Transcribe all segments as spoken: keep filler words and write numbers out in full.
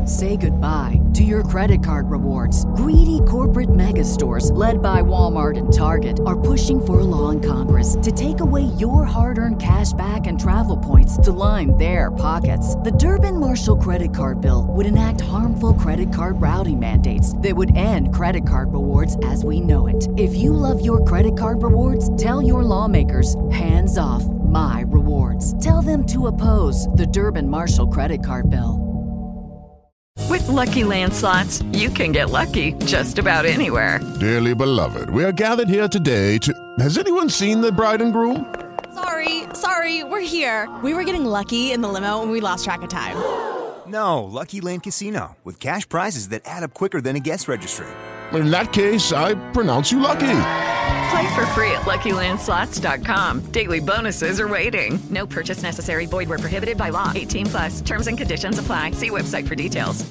Say goodbye to your credit card rewards. Greedy corporate mega stores, led by Walmart and Target, are pushing for a law in Congress to take away your hard-earned cash back and travel points to line their pockets. The Durbin-Marshall credit card bill would enact harmful credit card routing mandates that would end credit card rewards as we know it. If you love your credit card rewards, tell your lawmakers, hands off my rewards. Tell them to oppose the Durbin-Marshall credit card bill. With Lucky Land Slots, you can get lucky just about anywhere. Dearly beloved, we are gathered here today to... Has anyone seen the bride and groom? Sorry, sorry, we're here. We were getting lucky in the limo and we lost track of time. No, Lucky Land Casino, with cash prizes that add up quicker than a guest registry. In that case, I pronounce you lucky. Play for free at Lucky Land Slots dot com. Daily bonuses are waiting. No purchase necessary. Void where prohibited by law. eighteen plus. Terms and conditions apply. See website for details.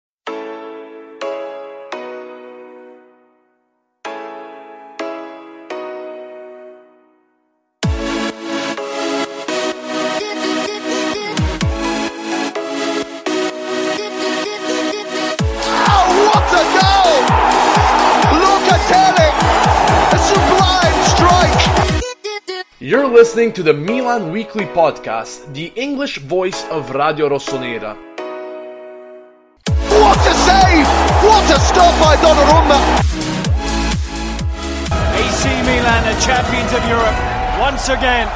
You're listening to the Milan Weekly Podcast, the English voice of Radio Rossonera. What a save! What a stop by Donnarumma! A C Milan are champions of Europe once again.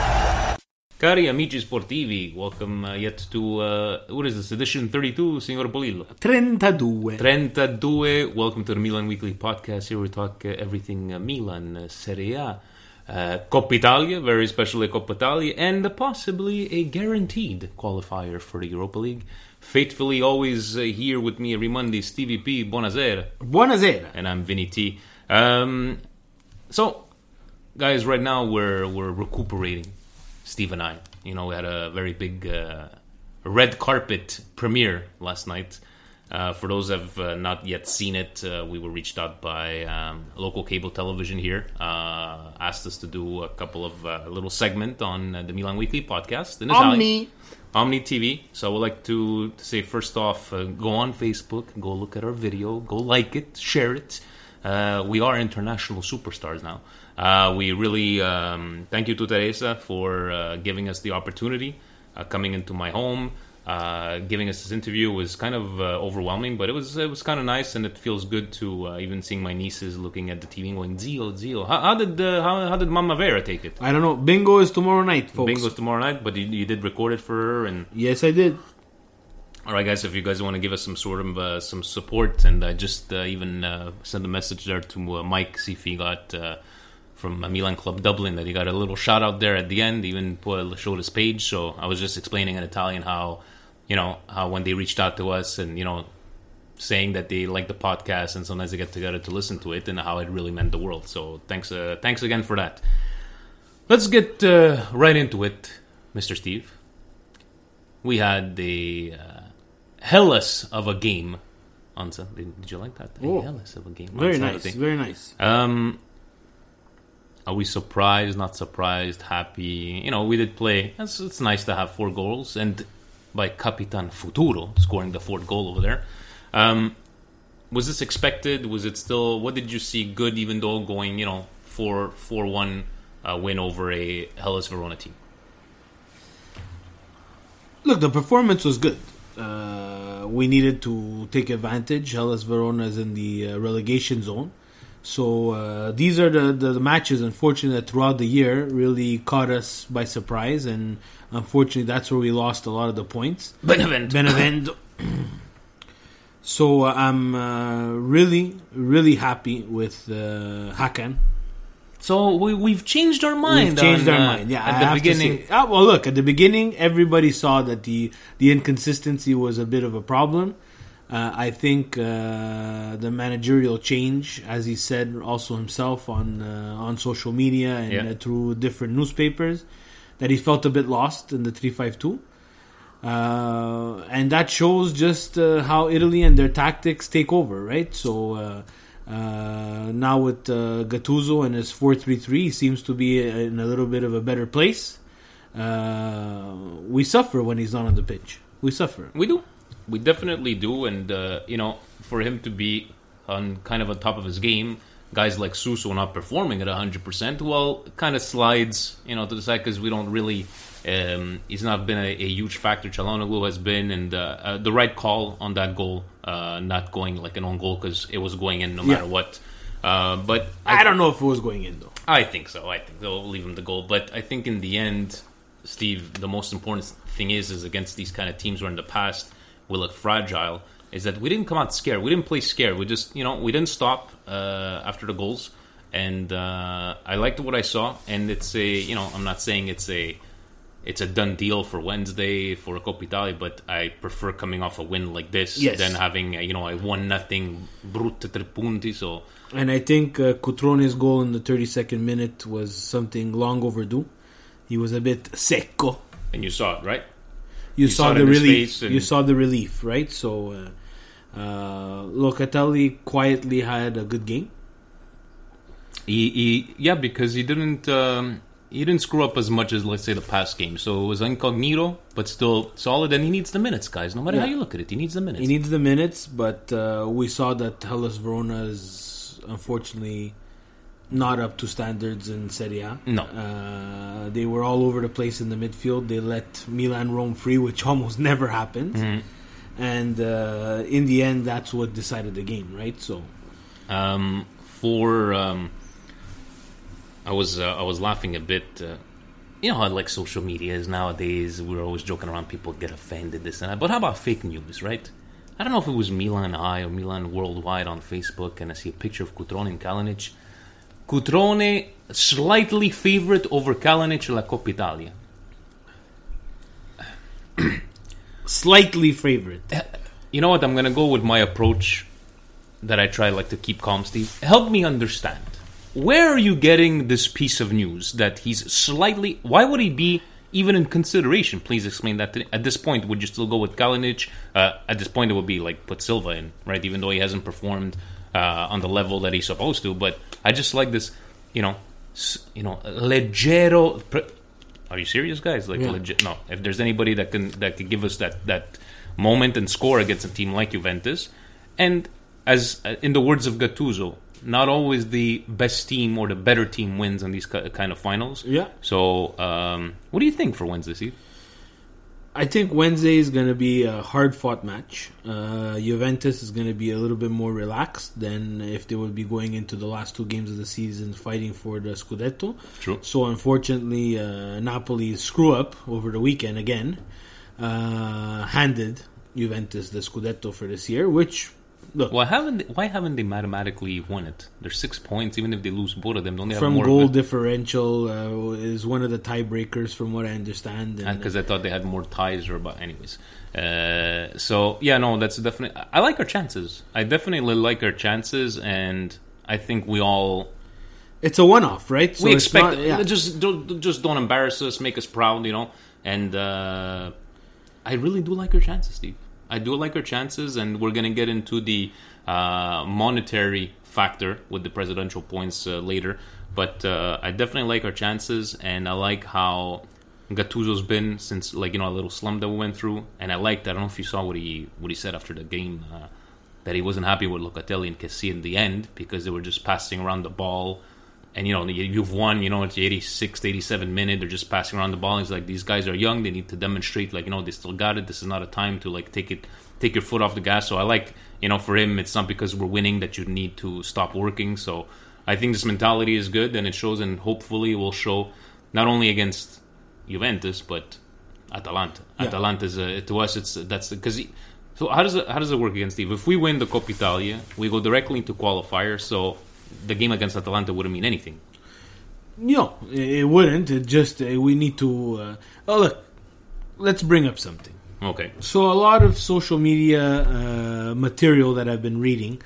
Cari amici sportivi, welcome uh, yet to, uh, what is this, edition thirty-two, Signor Bolillo? trentadue. trentadue, welcome to the Milan Weekly Podcast. Here we talk uh, everything uh, Milan, uh, Serie A, uh, Coppa Italia, very especially Coppa Italia, and uh, possibly a guaranteed qualifier for the Europa League. Faithfully always uh, here with me every Monday, Stevie P, buonasera. Buonasera. And I'm Vinny T. Um, so, guys, right now we're we're recuperating. Steve and I, you know, we had a very big uh, red carpet premiere last night. Uh, for those that have uh, not yet seen it, uh, we were reached out by um, local cable television here, uh, asked us to do a couple of uh, little segment on uh, the Milan Weekly Podcast. In Omni. Omni T V. So I would like to, to say, first off, uh, go on Facebook, go look at our video, go like it, share it. Uh, we are international superstars now. Uh, we really um, thank you to Teresa for uh, giving us the opportunity, uh, coming into my home, uh, giving us this interview. It was kind of uh, overwhelming, but it was it was kind of nice, and it feels good to uh, even seeing my nieces looking at the T V and going, Zio, Zio. How, how did uh, how, how did Mama Vera take it? I don't know. Bingo is tomorrow night, folks. Bingo is tomorrow night, but you, you did record it for her, and yes, I did. All right, guys, if you guys want to give us some sort of uh, some support, and I just uh, even uh, send a message there to uh, Mike, see if he got uh, from Milan Club Dublin that he got a little shout out there at the end, even put, showed his page. So I was just explaining in Italian how, you know, how when they reached out to us and, you know, saying that they like the podcast and sometimes they get together to listen to it and how it really meant the world. So thanks, uh, thanks again for that. Let's get uh, right into it, Mister Steve. We had the uh, Hellas of a game on Sunday. Did you like that? Oh, Hellas of a game. Very nice. Very nice. Um, are we surprised? Not surprised? Happy? You know, we did play. It's, it's nice to have four goals, and by Capitan Futuro scoring the fourth goal over there. Um, was this expected? Was it still? What did you see good? Even though going, you know, four four one uh, win over a Hellas Verona team. Look, the performance was good. Uh, we needed to take advantage. Hellas Verona is in the uh, relegation zone. So uh, these are the, the, the matches, unfortunately, that throughout the year really caught us by surprise. And unfortunately, that's where we lost a lot of the points. Benevento. Benevento. So uh, I'm uh, really, really happy with uh, Hakan. So we, we've changed our mind. We've changed on, our uh, mind. Yeah, at I the have beginning. To say, ah, well, look, at the beginning, everybody saw that the the inconsistency was a bit of a problem. Uh, I think uh, the managerial change, as he said also himself on uh, on social media and yeah. uh, through different newspapers, that he felt a bit lost in the three five two. Uh, and that shows just uh, how Italy and their tactics take over, right? So uh, uh, now with uh, Gattuso and his four three three, he seems to be in a little bit of a better place. Uh, we suffer when he's not on the pitch. We suffer. We do. we definitely do. And, uh, you know, for him to be on kind of on top of his game, guys like Suso not performing at one hundred percent, well, it kind of slides, you know, to the side because we don't really... Um, he's not been a, a huge factor. Çalhanoğlu has been, and uh, uh, the right call on that goal, uh, not going like an own goal because it was going in no matter Yeah. what. Uh, but I, I don't know if it was going in, though. I think so. I think they'll leave him the goal. But I think in the end, Steve, the most important thing is, is against these kind of teams where in the past we look fragile, is that we didn't come out scared. We didn't play scared. We just, you know, we didn't stop uh, after the goals. And uh, I liked what I saw. And it's a, you know, I'm not saying it's a, it's a done deal for Wednesday for Coppa Italia, but I prefer coming off a win like this Yes. than having, a, you know, a one nothing brutta tre punti. So. And I think uh, Cutrone's goal in the thirty-second minute was something long overdue. He was a bit secco. And you saw it, right? You, You saw, saw it the in his relief. face and- You saw the relief, right? So, uh, uh, Locatelli quietly had a good game. He, he yeah, because he didn't um, he didn't screw up as much as, let's say, the past game. So it was incognito, but still solid. And he needs the minutes, guys. No matter Yeah. how you look at it, he needs the minutes. He needs the minutes, but uh, we saw that Hellas Verona is unfortunately not up to standards in Serie A. No. Uh, they were all over the place in the midfield. They let Milan roam free, which almost never happens. Mhm. And uh, in the end, that's what decided the game, right? So, Um, for um, I was uh, I was laughing a bit. Uh, you know how like social media is nowadays. We're always joking around. People get offended, this and that. But how about fake news, right? I don't know if it was Milan Eye or Milan Worldwide on Facebook, and I see a picture of Cutrone and Kalinic. Cutrone slightly favorite over Kalinic in La Coppa Italia. slightly favorite. You know what? I'm gonna go with my approach that I try like to keep calm, Steve. Help me understand. Where are you getting this piece of news that he's slightly... Why would he be even in consideration? Please explain that to me. At this point, would you still go with Kalinic? Uh, at this point, it would be like put Silva in, right? Even though he hasn't performed uh, on the level that he's supposed to. But I just like this, you know, s- you know, leggero... Pre- are you serious, guys? Like, Yeah. legit? No. If there's anybody that can that can give us that, that moment and score against a team like Juventus, and as uh, in the words of Gattuso, not always the best team or the better team wins in these ki- kind of finals. Yeah. So, um, what do you think for Wednesday, Steve? I think Wednesday is going to be a hard-fought match. Uh, Juventus is going to be a little bit more relaxed than if they would be going into the last two games of the season fighting for the Scudetto. True. So, unfortunately, uh, Napoli's screw-up over the weekend again uh, handed Juventus the Scudetto for this year, which... Look, Why haven't they, why haven't they mathematically won it? There's six points, even if they lose both of them. Don't they have from more? goal differential uh, is one of the tiebreakers, from what I understand. And, Because I thought they had more ties, or but anyways. Uh, so yeah, no, that's definitely. I like our chances. I definitely like our chances, and I think we all. It's a one-off, right? So we it's expect not- yeah. just don't just don't embarrass us, make us proud, you know. And uh, I really do like our chances, Steve. I do like our chances, and we're going to get into the uh, monetary factor with the presidential points uh, later. But uh, I definitely like our chances, and I like how Gattuso's been since, like, you know, a little slump that we went through. And I liked, I don't know if you saw what he what he said after the game, uh, that he wasn't happy with Locatelli and Kessie in the end because they were just passing around the ball. And, you know, you've won, you know, it's the eighty-sixth, eighty-seventh minute. They're just passing around the ball. He's like, these guys are young. They need to demonstrate, like, you know, they still got it. This is not a time to, like, take it, take your foot off the gas. So I like, you know, for him, it's not because we're winning that you need to stop working. So I think this mentality is good, and it shows, and hopefully will show not only against Juventus, but Atalanta. Yeah. Atalanta is, a, to us, it's, that's, because, so how does it, how does it work against Steve? If we win the Coppa Italia, we go directly into qualifier, so the game against Atalanta wouldn't mean anything. No, it wouldn't. It just uh, we need to. Uh, oh, look, let's bring up something. Okay. So a lot of social media uh, material that I've been reading,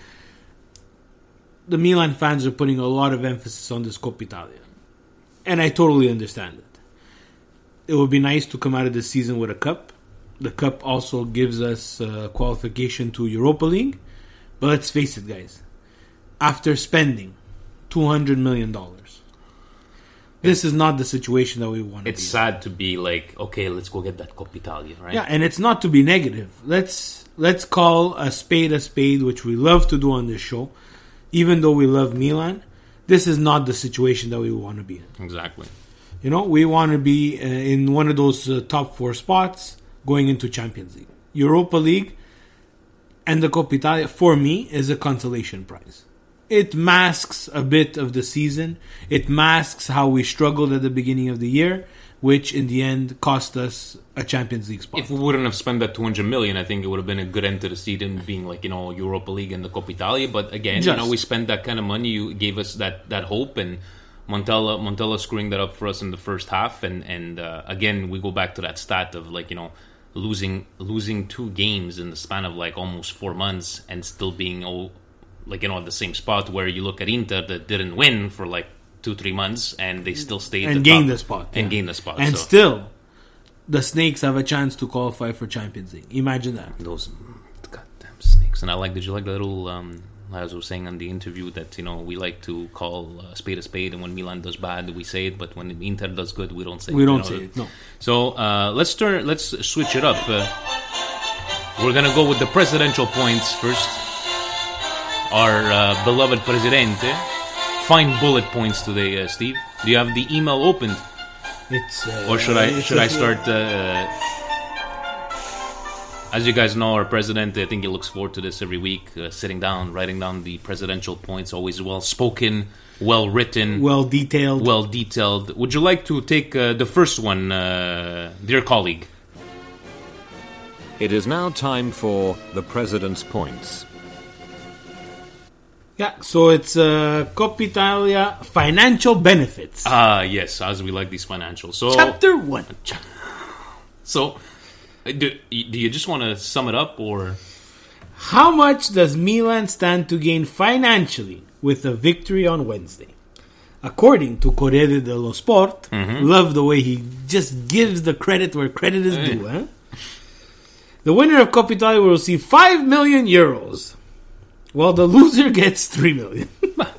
the Milan fans are putting a lot of emphasis on this Coppa Italia, and I totally understand it. It would be nice to come out of this season with a cup. The cup also gives us uh, qualification to Europa League, but let's face it, guys. After spending two hundred million dollars, this is not the situation that we want to be. It's sad to be like, okay, let's go get that Coppa Italia, right? Yeah, and it's not to be negative. Let's let's call a spade a spade, which we love to do on this show. Even though we love Milan, this is not the situation that we want to be in. Exactly. You know, we want to be uh, in one of those uh, top four spots going into Champions League. Europa League and the Coppa Italia, for me, is a consolation prize. It masks a bit of the season. It masks how we struggled at the beginning of the year, which in the end cost us a Champions League spot. If we wouldn't have spent that two hundred million, I think it would have been a good end to the season, being like, you know, Europa League and the Coppa Italia. But again, Just. you know, we spent that kind of money. You gave us that, that hope, and Montella Montella screwing that up for us in the first half. And and uh, again, we go back to that stat of like, you know, losing losing two games in the span of like almost four months and still being oh, like, you know, at the same spot, where you look at Inter that didn't win for like two three months and they still stayed and the gained top, the spot and yeah. gained the spot and so. Still the Snakes have a chance to qualify for Champions League. Imagine that. Those goddamn Snakes. And I like, did you like the little um, as I was saying on the interview, that, you know, we like to call a spade a spade, and when Milan does bad we say it, but when Inter does good we don't say we it. We don't you know? say it, no. So uh, let's turn let's switch it up. uh, We're gonna go with the presidential points first. Our uh, beloved Presidente. Fine bullet points today, uh, Steve. Do you have the email opened? It's uh, or should I it's should a, I start? Uh, as you guys know, our president, I think he looks forward to this every week, uh, sitting down, writing down the presidential points. Always well spoken, well written, well detailed. Well detailed. Would you like to take uh, the first one, uh, dear colleague? It is now time for the president's points. Yeah, so it's uh, Coppa Italia financial benefits. Ah, uh, yes, as we like these financials. So, Chapter one. So, do, do you just want to sum it up, or? How much does Milan stand to gain financially with a victory on Wednesday? According to Corriere dello Sport, mm-hmm. Love the way he just gives the credit where credit is due. Eh? The winner of Coppa Italia will receive five million euros. Well, the loser gets three million.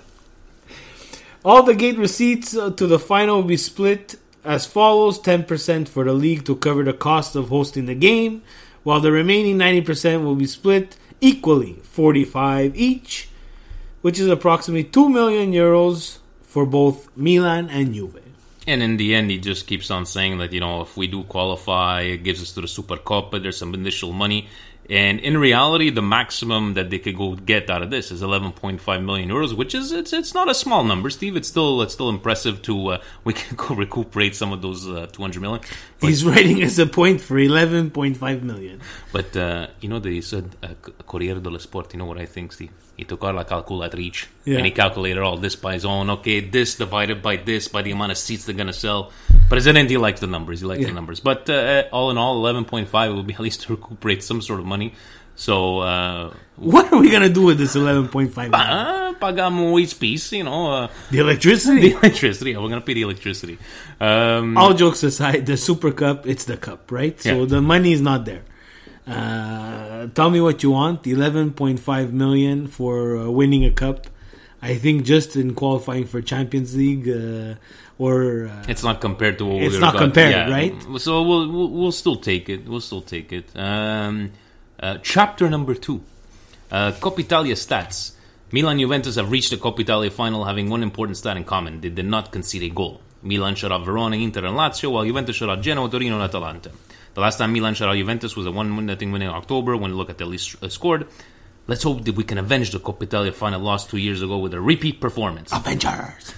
All the gate receipts to the final will be split as follows: ten percent for the league to cover the cost of hosting the game, while the remaining ninety percent will be split equally, forty-five each, which is approximately two million euros for both Milan and Juve. And in the end, he just keeps on saying that, you know, if we do qualify, it gives us to the Supercoppa, there's some initial money. And in reality, the maximum that they could go get out of this is eleven point five million euros, which is it's it's not a small number, Steve. It's still it's still impressive to uh, we can go recuperate some of those uh, two hundred million. But, he's writing as a point for eleven point five million. But uh, you know that he said uh, Corriere dello Sport. You know what I think, Steve? He took out la calculatrice yeah. and he calculated all this by his own. Okay, this divided by this by the amount of seats they're gonna sell. President, he likes the numbers. He likes yeah. the numbers. But uh, all in all, eleven point five will be at least to recuperate some sort of money. So, uh, what are we gonna do with this eleven point five? Pa- pagamo each piece, you know. Uh, the electricity. The electricity. Yeah, we're gonna pay the electricity. Um, all jokes aside, the Super Cup, it's the cup, right? So yeah. the money is not there. Uh, tell me what you want. eleven point five million for uh, winning a cup. I think just in qualifying for Champions League, uh, or uh, it's not compared to what it's we not got. compared, yeah. right? So we'll, we'll we'll still take it. We'll still take it. Um, uh, chapter number two, uh, Coppa Italia stats. Milan Juventus have reached the Coppa Italia final, having one important stat in common: they did not concede a goal. Milan shut out Verona, Inter, and Lazio, while Juventus shut out Genoa, Torino, and Atalanta. The last time Milan shut out Juventus was a one nothing win in October. When you look at the least uh, scored. Let's hope that we can avenge the Coppa Italia final loss two years ago with a repeat performance. Avengers!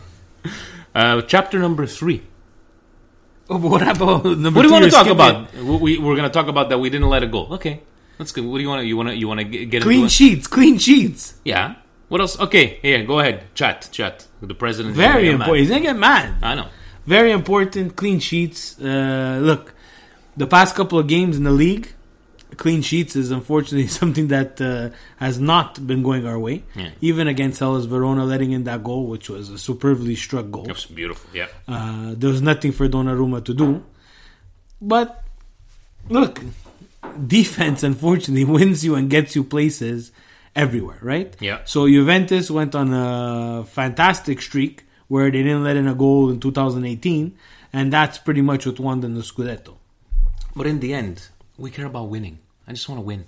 uh, chapter number three. Oh, but what about number What do you want to talk skipping? about? We, we're going to talk about that we didn't let it go. Okay, that's good. What do you want to? You want to? You want to get clean into sheets? It? Clean sheets. Yeah. What else? Okay, yeah. Go ahead. Chat, chat. The president. Very important. He's gonna get mad. I know. Very important. Clean sheets. Uh, look, the past couple of games in the league. Clean sheets is unfortunately something that uh, has not been going our way. Yeah. Even against Hellas Verona, letting in that goal, which was a superbly struck goal. It was beautiful, yeah. Uh, there was nothing for Donnarumma to do. But, look, defense, unfortunately, wins you and gets you places everywhere, right? Yeah. So Juventus went on a fantastic streak where they didn't let in a goal in two thousand eighteen, and that's pretty much what won them the Scudetto. But in the end, we care about winning. I just want to win.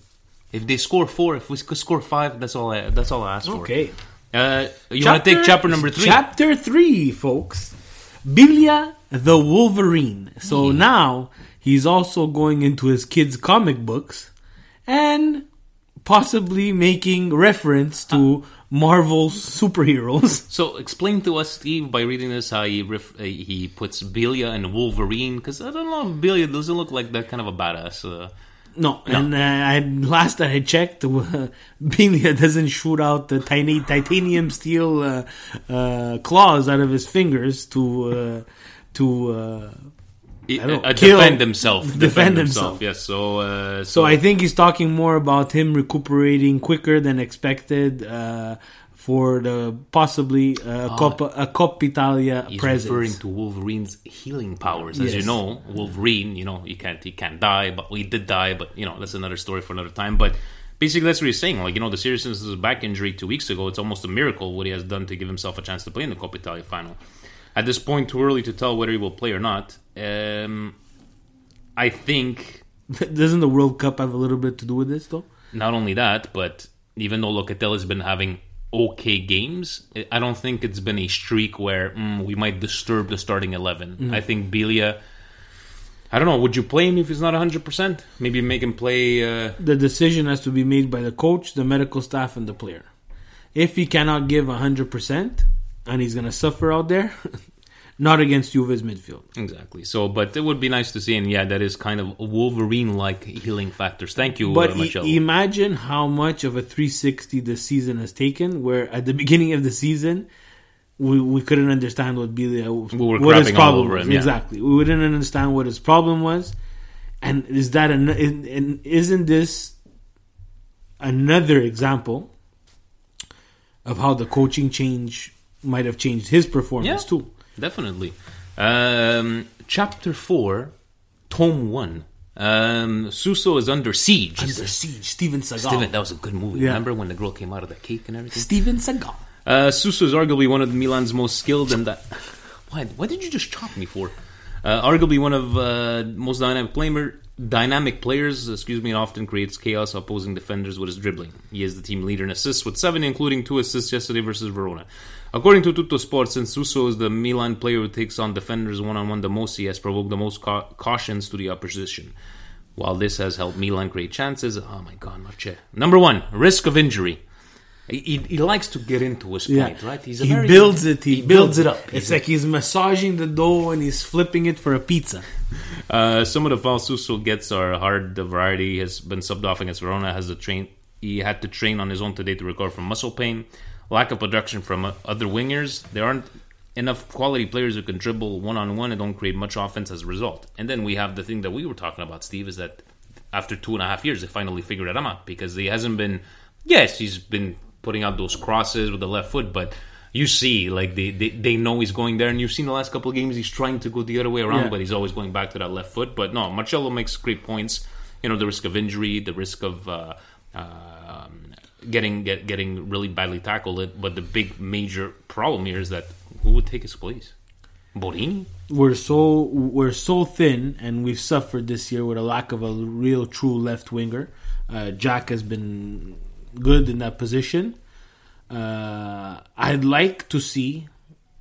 If they score four, if we could score five, that's all I, that's all I ask for. Okay. Uh, you want to take chapter number three? Chapter three, folks. Bilya the Wolverine. So yeah. now he's also going into his kids' comic books and possibly making reference to Marvel's superheroes. So explain to us, Steve, by reading this, how he ref- uh, he puts Bilya and Wolverine, because I don't know if Bilya doesn't look like that kind of a badass. Uh, no, no, and uh, I, last that I checked, uh, Bilya doesn't shoot out the tiny titanium steel uh, uh, claws out of his fingers to uh, to. Uh, I don't know, uh, kill, defend himself. Defend, defend himself. himself. Yes. So, uh, so, so I think he's talking more about him recuperating quicker than expected uh, for the possibly uh, oh, Coppa, a Coppa Italia he's presence. He's referring to Wolverine's healing powers. As yes. you know, Wolverine, you know, he can't he can't die, but he did die. But you know, that's another story for another time. But basically, that's what he's saying. Like, you know, the seriousness of his back injury two weeks ago, it's almost a miracle what he has done to give himself a chance to play in the Coppa Italia final. At this point, too early to tell whether he will play or not. Um, I think... Doesn't the World Cup have a little bit to do with this, though? Not only that, but even though Locatelli's been having okay games, I don't think it's been a streak where mm, we might disturb the starting eleven. Mm. I think Bilya... I don't know, would you play him if he's not one hundred percent? Maybe make him play... Uh... The decision has to be made by the coach, the medical staff, and the player. If he cannot give one hundred percent, and he's going to suffer out there... Not against Juve's midfield. Exactly. So, but it would be nice to see, and yeah, that is kind of Wolverine-like healing factors. Thank you, but uh, Marcello. I- imagine how much of a three sixty this season has taken, where at the beginning of the season, we, we couldn't understand what Bilya, we were what his problem over was. him, yeah. Exactly. We didn't understand what his problem was. And is that an, and isn't this another example of how the coaching change might have changed his performance yeah. too? Definitely. Um, chapter four, Tome one. Um, Suso is under siege. Under siege. Steven Seagal. Steven, that was a good movie. Yeah. Remember when the girl came out of the cake and everything? Steven Seagal. Uh, Suso is arguably one of Milan's most skilled and that. Why? What did you just chop me for? Uh, arguably one of uh, most dynamic player, dynamic players. Excuse me, and often creates chaos opposing defenders with his dribbling. He is the team leader in assists with seven, including two assists yesterday versus Verona. According to Tutto Sport, since Suso is the Milan player who takes on defenders one-on-one the most, he has provoked the most ca- cautions to the opposition. While this has helped Milan create chances, oh my God, Marce. Number one, risk of injury. He, he, he likes to get into his yeah. point, right? He's a he very, builds it. He, he builds, builds it it up. up. It's He's like he's massaging the dough and he's flipping it for a pizza. Uh, some of the fouls Suso gets are hard. The variety he has been subbed off against Verona. Has to train. He had to train on his own today to recover from muscle pain. Lack of production from other wingers. There aren't enough quality players who can dribble one-on-one and don't create much offense as a result. And then we have the thing that we were talking about, Steve, is that after two and a half years, they finally figured it out because he hasn't been... Yes, he's been putting out those crosses with the left foot, but you see, like, they, they, they know he's going there, and you've seen the last couple of games, he's trying to go the other way around, yeah. but he's always going back to that left foot. But no, Marcello makes great points. You know, the risk of injury, the risk of... Uh, uh, Getting get, getting really badly tackled, but the big major problem here is that who would take his place? Borini? We're so we're so thin, and we've suffered this year with a lack of a real true left winger. Uh, Jack has been good in that position. Uh, I'd like to see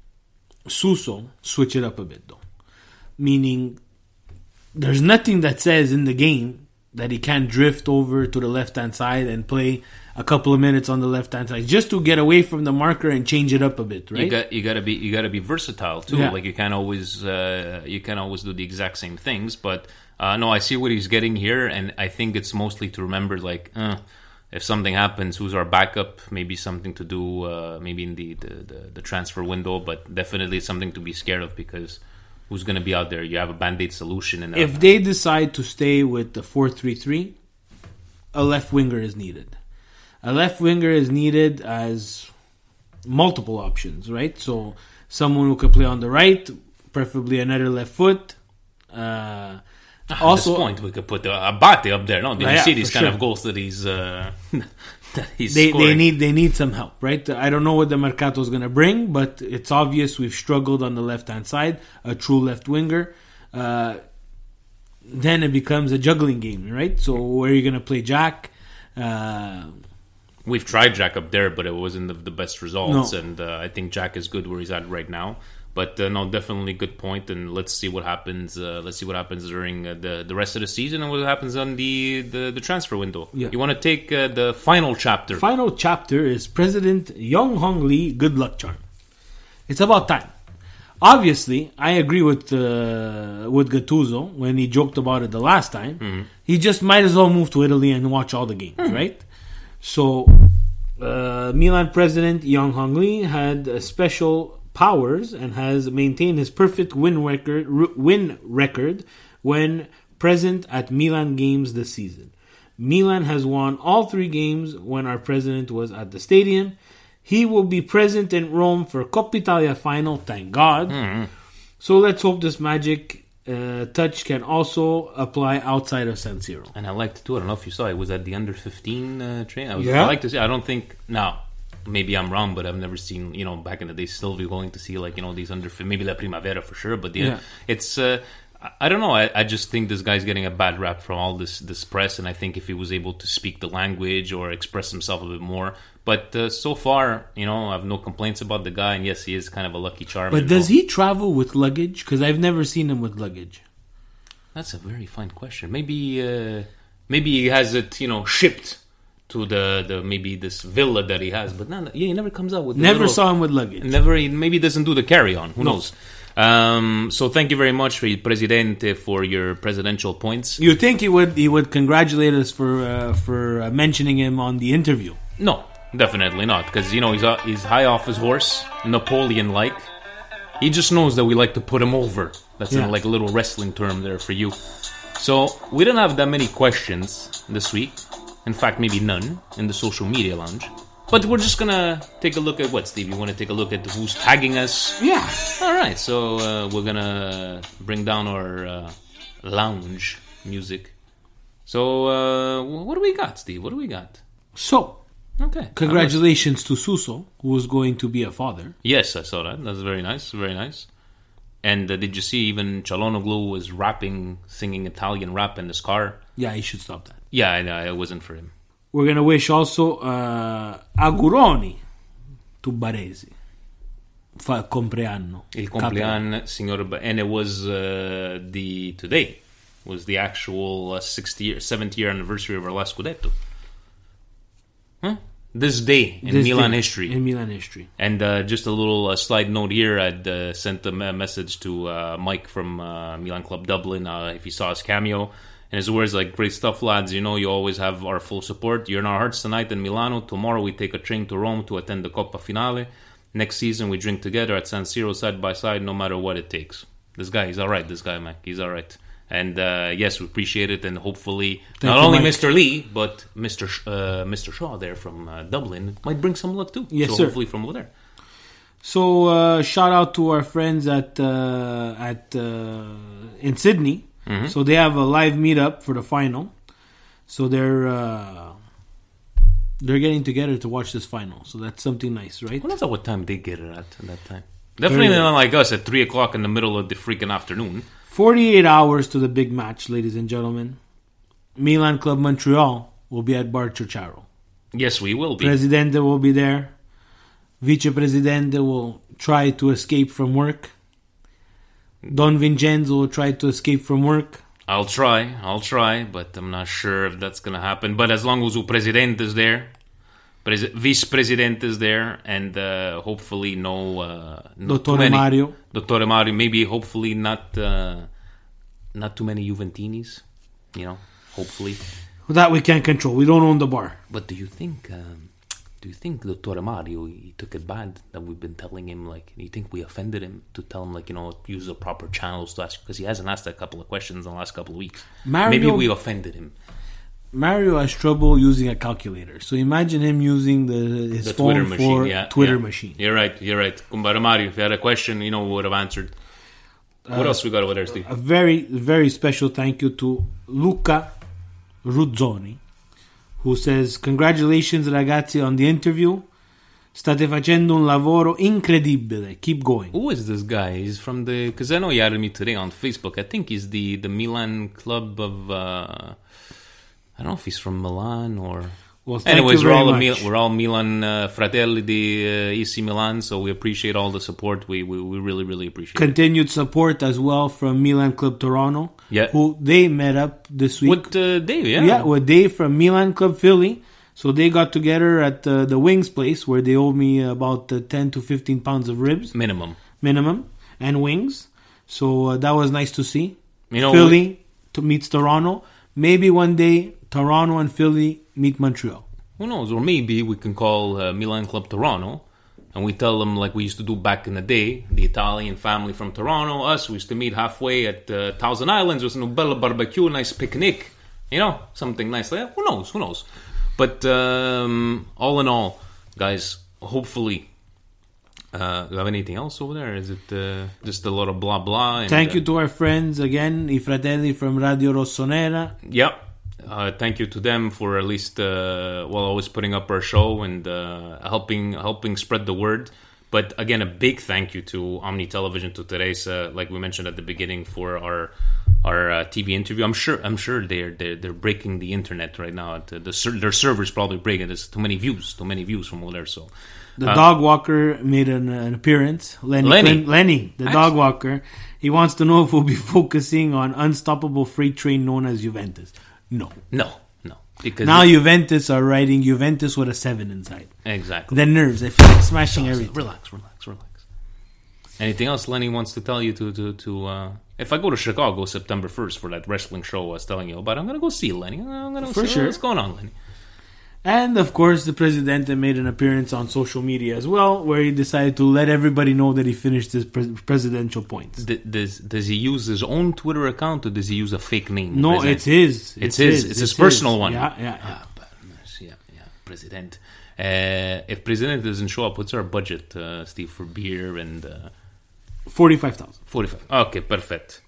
Suso switch it up a bit, though. Meaning, there's nothing that says in the game that he can't drift over to the left-hand side and play a couple of minutes on the left-hand side just to get away from the marker and change it up a bit, right? You got you got to be you got to be versatile too. Yeah. Like you can't always uh, you can't always do the exact same things. But uh, no, I see what he's getting here, and I think it's mostly to remember like uh, if something happens, who's our backup? Maybe something to do, uh, maybe in the, the, the, the transfer window, but definitely something to be scared of because. Who's going to be out there? You have a band-aid solution. In if they decide to stay with the four three three, a left winger is needed. A left winger is needed as multiple options, right? So someone who could play on the right, preferably another left foot. Uh, At also, this point, we could put the Abate up there. No, did yeah, you see these kind sure. of goals that he's uh, that he's they, scoring? they need they need some help, right? I don't know what the Mercato is going to bring, but it's obvious we've struggled on the left-hand side, a true left winger. Uh, then it becomes a juggling game, right? So where are you going to play Jack? Uh, We've tried Jack up there, but it wasn't the, the best results. No. And uh, I think Jack is good where he's at right now. But uh, no, definitely good point. And let's see what happens. Uh, let's see what happens during uh, the the rest of the season and what happens on the the, the transfer window. Yeah. You want to take uh, the final chapter? Final chapter is President Young Hong Lee good luck charm. It's about time. Obviously, I agree with uh, with Gattuso when he joked about it the last time. Mm-hmm. He just might as well move to Italy and watch all the games, Mm-hmm. right? So, uh, Milan president Young Hong Lee had uh, special powers and has maintained his perfect win record, r- win record when present at Milan games this season. Milan has won all three games when our president was at the stadium. He will be present in Rome for Coppa Italia final, thank God. Mm-hmm. So let's hope this magic uh, touch can also apply outside of San Siro. And I liked it too. I don't know if you saw it. Was at the under fifteen uh, train. I, was, Yeah. I like to see. I don't think now. Maybe I'm wrong, but I've never seen, you know, back in the day, Sylvie going to see, like, you know, these under, maybe La Primavera for sure, but yeah, Yeah. it's, uh, I don't know, I, I just think this guy's getting a bad rap from all this, this press, and I think if he was able to speak the language or express himself a bit more, but uh, so far, you know, I have no complaints about the guy, and yes, he is kind of a lucky charm. But does he travel with luggage? Because I've never seen him with luggage. That's a very fine question. Maybe, uh, maybe he has it, you know, shipped to the, the maybe this villa that he has, but no, yeah, he never comes out with. Never little, saw him with luggage. Never, he maybe doesn't do the carry on. Who No. knows? Um, so thank you very much, Presidente, for your presidential points. You think he would he would congratulate us for uh, for uh, mentioning him on the interview? No, definitely not, because you know he's uh, he's high off his horse, Napoleon-like. He just knows that we like to put him over. That's Yeah. in, like a little wrestling term there for you. So we didn't have that many questions this week. In fact, maybe none in the social media lounge. But we're just gonna take a look at what, Steve? You want to take a look at who's tagging us? Yeah. All right. So uh, we're gonna bring down our uh, lounge music. So uh, what do we got, Steve? What do we got? So, okay. Congratulations to Suso, who is going to be a father. Yes, I saw that. That's very nice. Very nice. And uh, did you see even Çalhanoğlu was rapping, singing Italian rap in his car? Yeah, he should stop that. Yeah, I know. It wasn't for him. We're going to wish also uh, auguroni to Baresi. Fa compleanno. Il compleanno, signor ba- and it was uh, the today was the actual uh, sixty year, seventy year anniversary of our last Scudetto. Huh? This day in This Milan day history. In Milan history. And uh, just a little uh, slide note here, I'd uh, sent a me- message to uh, Mike from uh, Milan Club Dublin uh, if he saw his cameo. And his words like, great stuff, lads. You know, you always have our full support. You're in our hearts tonight in Milano. Tomorrow we take a train to Rome to attend the Coppa Finale. Next season we drink together at San Siro side by side, no matter what it takes. This guy, he's all right, this guy, Mike. He's all right. And uh, yes, we appreciate it. And hopefully, Thank not you, only Mike. Mister Lee, but Mister Sh- uh, Mister Shaw there from uh, Dublin might bring some luck too. Yes, so sir. hopefully from over there. So, uh, shout out to our friends at uh, at uh, in Sydney. Mm-hmm. So they have a live meetup for the final. So they're uh, they're getting together to watch this final. So that's something nice, right? Well, that's not what time they get it at at that time. Definitely Very not like us at three o'clock in the middle of the freaking afternoon. Forty-eight hours to the big match, ladies and gentlemen. Milan Club Montreal will be at Bar Ciociaro. Yes, we will be. Presidente will be there. Vice Presidente will try to escape from work. Don Vincenzo will try to escape from work. I'll try, I'll try, but I'm not sure if that's going to happen. But as long as the President is there, Pres- Vice President is there, and uh, hopefully no... Uh, not too Dottore many. Mario. Dottore Mario, maybe hopefully not uh, not too many Juventinis, you know, hopefully. That we can't control. We don't own the bar. But do you think... Um, Do you think Dottore Mario, he took it bad that we've been telling him, like, do you think we offended him to tell him, like, you know, use the proper channels to ask? Because he hasn't asked a couple of questions in the last couple of weeks. Mario, Maybe we offended him. Mario has trouble using a calculator. So imagine him using the his The phone Twitter machine, for yeah. Twitter yeah. machine. You're right, you're right. Kumbara Mario, if you had a question, you know, we would have answered. What Uh, else we got over there, Steve? A very, very special thank you to Luca Ruzzoni, who says, congratulations ragazzi on the interview. State facendo un lavoro incredibile. Keep going. Who is this guy? He's from the... Because I know he added me today on Facebook. I think he's the, the Milan club of... Uh, I don't know if he's from Milan or... Well, thank Anyways, you we're very all, a much. Mil- we're all Milan uh, Fratelli di uh, A C Milan, so we appreciate all the support. We we, we really, really appreciate it. Continued support as well from Milan Club Toronto, Yeah. who they met up this week. With uh, Dave, yeah. Yeah, with Dave from Milan Club Philly. So they got together at uh, the Wings place where they owed me about uh, ten to fifteen pounds of ribs. Minimum. Minimum. And wings. So uh, that was nice to see. You know, Philly we- to meets Toronto. Maybe one day Toronto and Philly meet Montreal. Who knows? Or maybe we can call uh, Milan Club Toronto and we tell them like we used to do back in the day, the Italian family from Toronto, us, we used to meet halfway at uh, Thousand Islands with a bella barbecue, nice picnic, you know, something nice like that. Who knows? Who knows? But um, all in all, guys, hopefully, uh, do you have anything else over there? Is it uh, just a lot of blah blah? And, Thank uh, you to our friends again, I Fratelli from Radio Rossonera. Yep. Uh, thank you to them for at least uh, well always putting up our show and uh, helping helping spread the word. But again, a big thank you to Omni Television, to Teresa, like we mentioned at the beginning, for our our uh, T V interview. I'm sure I'm sure they're they're, they're breaking the internet right now. The, the ser- their servers probably breaking. There's too many views, too many views from over there. So the uh, dog walker made an, an appearance. Lenny, Lenny. Clin- Lenny, the dog walker. He wants to know if we'll be focusing on unstoppable freight train known as Juventus. No. No, no. Because now Juventus are writing Juventus with a seven inside. Exactly. The nerves. I feel like smashing So, so, everything. Relax, relax, relax. Anything else Lenny wants to tell you to... to, to uh, if I go to Chicago September first for that wrestling show I was telling you about, I'm going to go see Lenny. I'm going to For see sure. what's going on, Lenny. And of course, the Presidente made an appearance on social media as well, where he decided to let everybody know that he finished his pre- presidential points. D- does does he use his own Twitter account or does he use a fake name? No, President? it's his. It's, It's his. his. It's It's his his. personal one. Yeah, yeah, yeah. Ah, but, yeah, yeah. President. Uh, if President doesn't show up, what's our budget, uh, Steve, for beer and uh, forty-five thousand. Forty-five. Okay, perfect,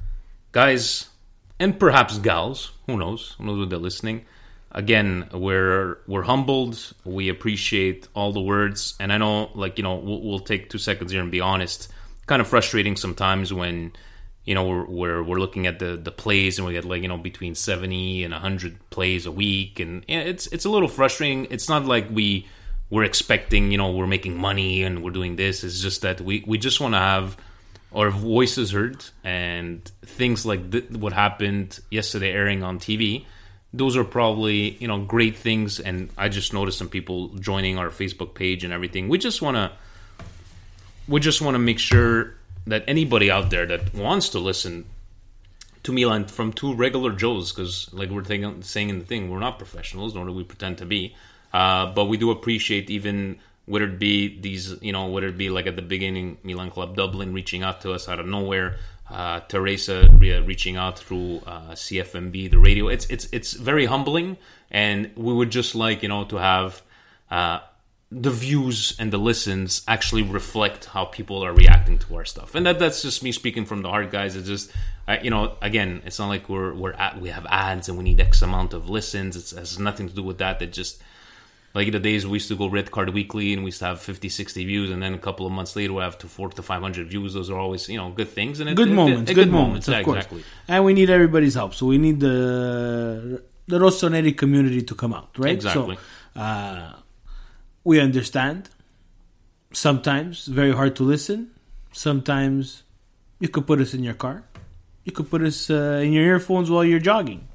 guys, and perhaps gals. Who knows? Who knows when they're listening? Again, we're we're humbled. We appreciate all the words, and I know, like you know, we'll, we'll take two seconds here and be honest. Kind of frustrating sometimes when you know we're we're, we're looking at the, the plays and we get like you know between seventy and a hundred plays a week, and yeah, it's it's a little frustrating. It's not like we we're expecting you know we're making money and we're doing this. It's just that we we just want to have our voices heard, and things like th- what happened yesterday airing on T V. Those are probably, you know, great things, and I just noticed some people joining our Facebook page and everything. We just want to, we just want to make sure that anybody out there that wants to listen to Milan from two regular Joes, because like we're thinking, saying in the thing, we're not professionals, nor do we pretend to be, uh, but we do appreciate even whether it be these, you know, whether it be like at the beginning, Milan Club Dublin reaching out to us out of nowhere. Uh, Teresa re- reaching out through uh, C F M B, the radio. It's it's it's very humbling, and we would just like you know to have uh, the views and the listens actually reflect how people are reacting to our stuff. And that that's just me speaking from the heart, guys. It's just uh, you know again, it's not like we're we're at, we have ads and we need X amount of listens. It's, it has nothing to do with that. It just like the days we used to go Red Card Weekly and we used to have fifty, sixty views, and then a couple of months later we have to four to five hundred views. Those are always, you know, good things. And it, good it, moments, it, good, good moments, moments, of yeah, course. Exactly. And we need everybody's help. So we need the the Rossoneri community to come out, right? Exactly. So uh, we understand. Sometimes very hard to listen. Sometimes you could put us in your car. You could put us uh, in your earphones while you're jogging.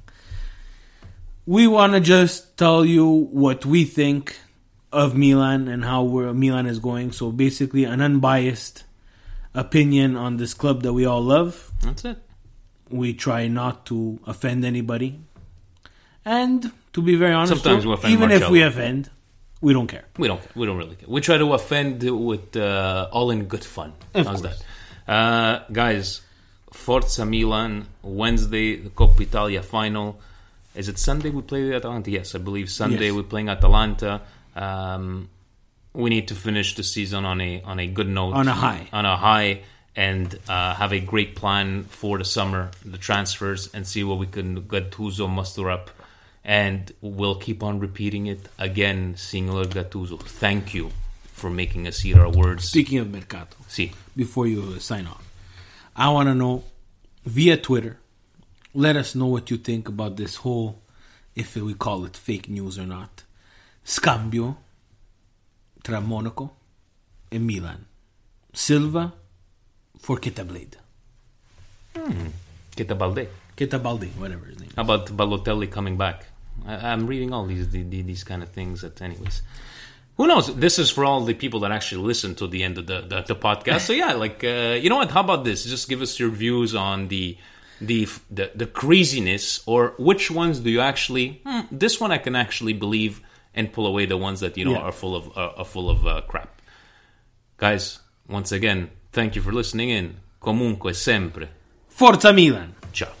We want to just tell you what we think of Milan and how we're, Milan is going. So basically an unbiased opinion on this club that we all love. That's it. We try not to offend anybody. And to be very honest, Sometimes we offend even Marcello. if we offend, we don't care. We don't. We don't really care. We try to offend with uh, all in good fun. Of How's course. that, uh, guys? Forza Milan Wednesday, the Coppa Italia final. Is it Sunday we play Atalanta? Yes, I believe Sunday Yes. we're playing Atalanta. Um, we need to finish the season on a on a good note, On a high. on a high, and uh, have a great plan for the summer, the transfers, and see what we can Gattuso muster up. And we'll keep on repeating it again, Signor Gattuso. Thank you for making us hear our words. Speaking of Mercato, Si. before you sign off, I want to know via Twitter, let us know what you think about this whole, if we call it fake news or not, scambio tra Monaco e Milan. Silva for Keita Blade. Hmm. Keita Balde. Keita Balde, whatever his name is. How about Balotelli coming back? I, I'm reading all these the, the, these kind of things. That, anyways, who knows? This is for all the people that actually listen to the end of the the, the podcast. So yeah, like uh, you know what? How about this? Just give us your views on the the the, the craziness, or which ones do you actually? Hmm, this one I can actually believe, and pull away the ones that you know yeah. are full of uh, are full of uh, crap. Guys, once again, thank you for listening in. Comunque sempre. Forza Milan. Ciao.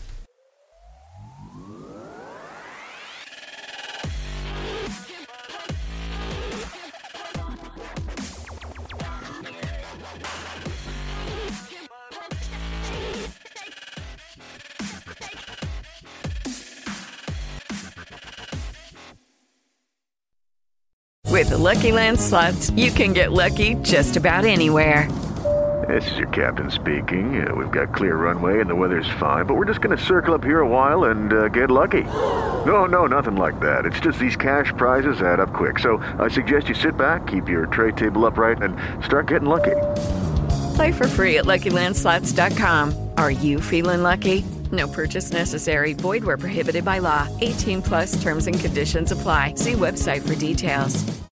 With the Lucky Land Slots, you can get lucky just about anywhere. This is your captain speaking. Uh, we've got clear runway and the weather's fine, but we're just going to circle up here a while and uh, get lucky. No, no, nothing like that. It's just these cash prizes add up quick. So I suggest you sit back, keep your tray table upright, and start getting lucky. Play for free at Lucky Land Slots dot com. Are you feeling lucky? No purchase necessary. Void where prohibited by law. eighteen plus terms and conditions apply. See website for details.